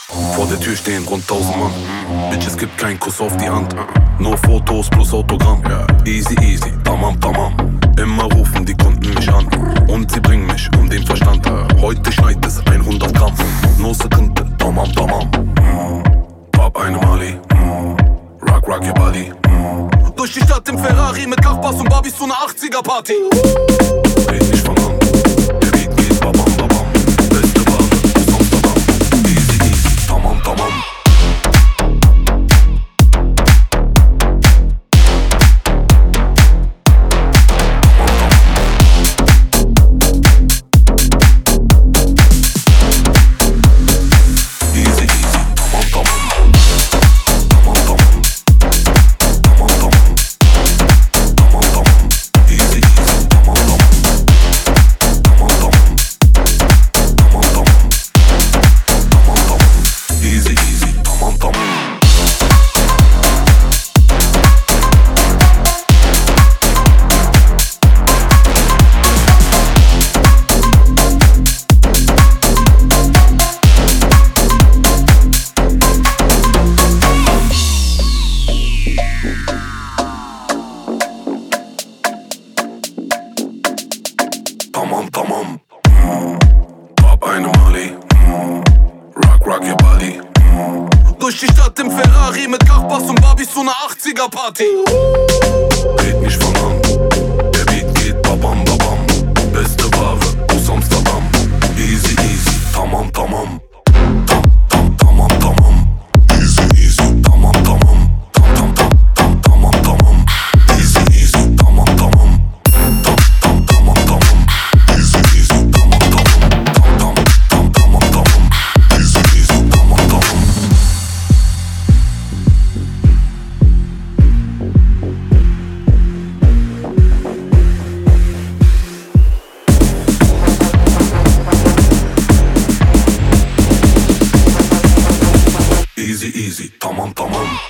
Vor der Tür stehen rund 1000 Mann. Bitch, es gibt keinen Kuss auf die Hand. Nur Fotos plus Autogramm. Easy, easy, tamam, tamam. Immer rufen die Kunden mich an. Und sie bringen mich um den Verstand. Heute schneit es 100 Gramm. No Sekünde, tamam, tamam. Pop eine Mali. Rock, rock your body. Durch die Stadt im Ferrari mit Nachbars und Barbies zu einer 80er-Party. Red nicht von Hand. Der Beat geht babam, babam. Beste Ware aus Amsterdam. Easy, easy, tamam, tamam. Tamam, tamam. Pop eine Mali. Rock, rock your body. Durch die Stadt im Ferrari mit Nachbars und Barbies zu einer 80er-Party. Red nicht von Hand. Der Beat geht babam, babam. Beste Ware aus Amsterdam. Easy, easy, tamam, tamam. Tam, tam, tamam, tamam. Easy, easy, tamam, tamam. Tam, tam, tam, tamam, tamam. Easy, easy, tamam, tamam. Tam, tam, tamam, tamam. Easy, easy, tamam, tamam. Tam, tam, tamam, tamam. Easy, easy, tamam, tamam. Easy, easy, tamam, tamam.